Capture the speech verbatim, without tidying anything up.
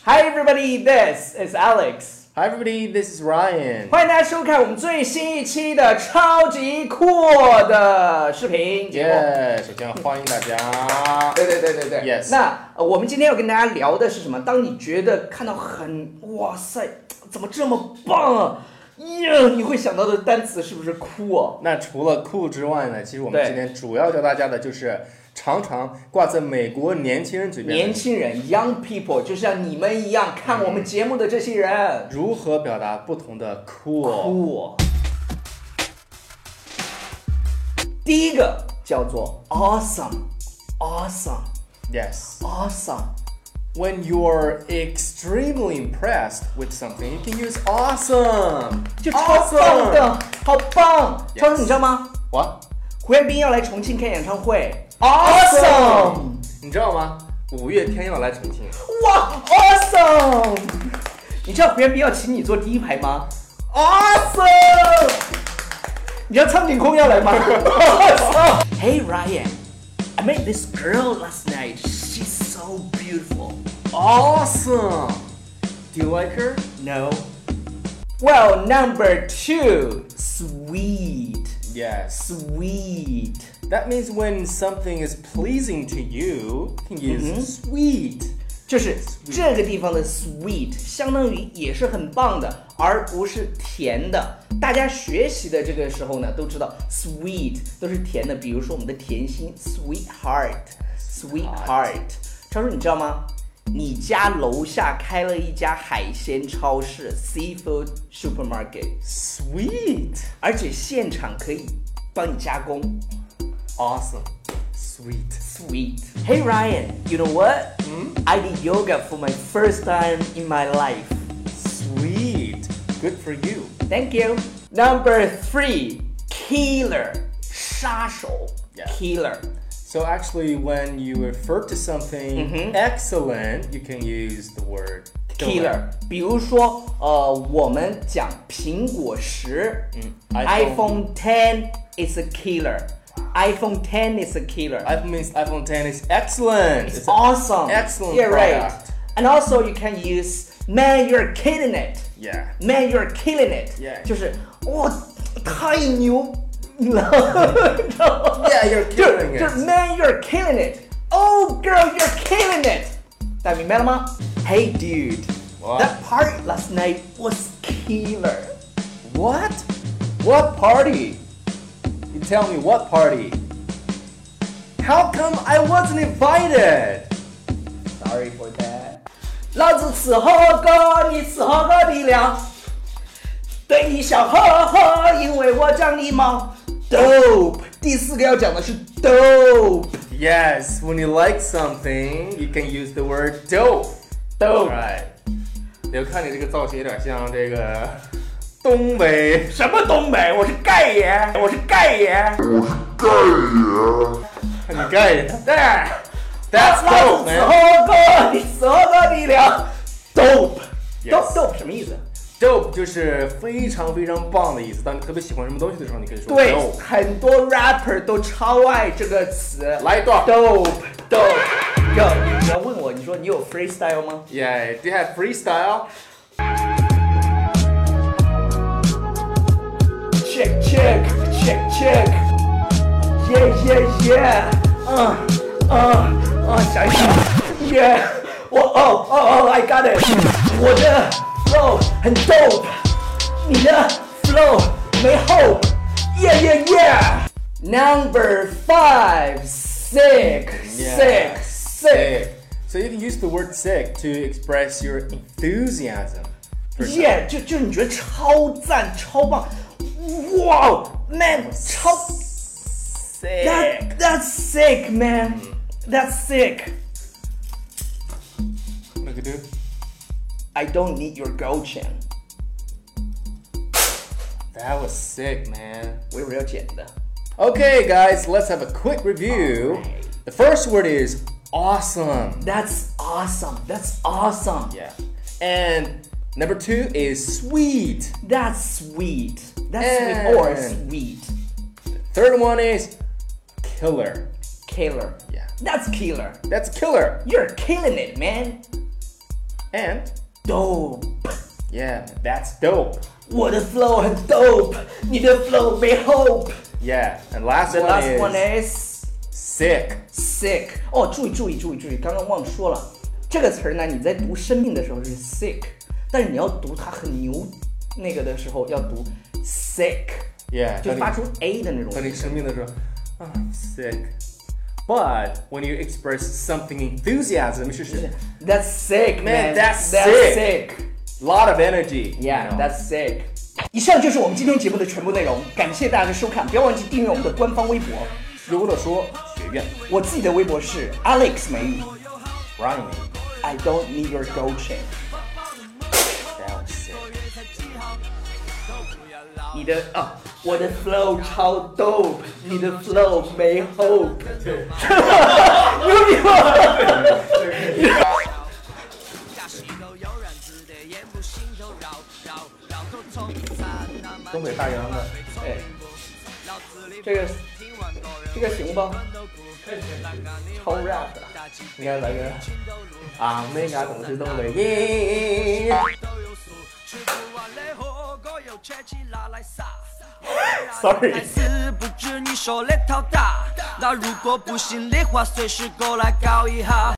Hi everybody, this is Alex. Hi everybody, this is Ryan. 欢迎大家收看我们最新一期的超级酷的视频节目。 Yeah, 首先欢迎大家。 对对对对对。 Yes. 那、呃、我们今天要跟大家聊的是什么？当你觉得看到很哇塞，怎么这么棒啊？耶！你会想到的单词是不是酷哦？ 那除了酷之外呢，其实我们今天主要教大家的就是常常挂在美国年轻人嘴边的年轻人 young people 就像你们一样看我们节目的这些人， 如何表达不同的 cool。 cool。第一个叫做 awesome awesome Yes. awesome。 When you're extremely impressed with something, you can use awesome. 就超棒的，好棒！ Yes. 超叔，你知道吗？ What? 胡彦斌要来重庆开演唱会 ，awesome！ 你知道吗？五月天要来重庆。 哇 ，awesome！ 你知道胡彦斌要请你坐第一排吗 ？awesome！ 你知道苍井空要来吗 ？awesome！ Hey Ryan, I met this girl last night. She's so beautiful. Awesome. Do you like her? No. Well, number two, sweet. Yes. Sweet. That means when something is pleasing to you, you can use sweet. 就是这个地方的 sweet 相当于也是很棒的，而不是甜的。大家学习的这个时候呢，都知道 sweet 都是甜的，比如说我们的甜心 sweetheart，sweetheart。超叔，你知道吗？你家楼下开了一家海鲜超市 seafood supermarket， Sweet. 而且现场可以帮你加工。 Awesome. Sweet. Sweet. Hey Ryan, you know what? Hmm? I did yoga for my first time in my life. Sweet. Good for you. Thank you. Number three, killer. 杀手 Yeah. Killer. So actually, when you refer to something excellent, you can use the word Killer. 比如说，呃，我们讲苹果十、 嗯 iPhone ten is a killer. iPhone ten is a killer. iPhone means iPhone ten is excellent. It's awesome. Excellent Yeah, right. product. And also you can use, man, you're killing it. Yeah. Man, you're killing it. Yeah. 就是哇，太牛了。 Yeah, you're 就 killing 就是 it. man, you're killing it. Oh, girl, you're killing it. 大家明白了吗 ？Hey, dude, What? that party last night was killer. What? What party? You tell me what party? How come I wasn't invited? Sorry for that. 老子吃火锅，你吃火锅底料，对你笑呵呵，因为我讲礼貌。Dope. 第四个要讲的是 dope. Yes, when you like something, you can use the word dope. Dope. Right. 我看你这个造型有点像这个东北。 什么东北？我是盖爷，我是盖爷。 你盖的。 对。 That's 老 dope, 子吃 man. 火锅，你吃火锅底料。Dope. Yes. Dope dope 什么意思？ Dope 就是非常非常棒的意思。当你特别喜欢什么东西的时候，你可以说对， dope。 很多 rapper 都超爱这个词。 来一段。 Dope dope。要你要问我，你说你有 freestyle 吗？ Yeah, do you have freestyle? Check check check check, yeah yeah yeah，嗯嗯嗯，想一想 ，yeah， 我哦哦哦 ，I got it， 我的 flow 很 dope， 你的 flow 没 hope，yeah yeah yeah。Number five, sick sick sick。 So you can use the word sick to express your enthusiasm. Yeah， 就就你觉得超赞超棒，哇 ，man， 超 Sick. That that's sick, man. That's sick. Look at it. I don't need your gold chain. That was sick, man. 我以为要剪的。 Okay, guys, let's have a quick review. The first word is awesome. That's awesome. That's awesome. Yeah. And number two is sweet. That's sweet. That's And- sweet or sweet. Third one is killer. Killer. Yeah. That's killer. That's killer. You're killing it, man. and dope. Yeah, that's dope. 我的 flow 很 dope， 你的 flow 没 hope. Yeah, and last The one last is one is sick. sick. 哦，注意注意注意注意，刚刚忘说了，这个词儿呢，你在读生命的时候是 sick， 但是你要读它很牛那个的时候要读 sick。Yeah， 就发出 a 的那种。 当你生病的时候，啊 sick。But when you express something enthusiasm， 是是 That's sick, man. That's That's sick. Lot of energy. Yeah, that's sick. 以上就是我们今天节目的全部内容，感谢大家的收看，不要忘记订阅我们的官方微博 “优乐说学院”。 我自己的微博是 Alex 美语 ，Ryan。 I don't need your coaching. That was sick. 你的啊，我的 flow 超 dope， 你的 flow 没 hope， 牛逼吗？ 东北大洋的， 哎，这个这个行吧？超 rap 的，应该来个啊，那个总是东北耶。Sorry。不知你手来头大，那如果不信的话，随时过来搞一下。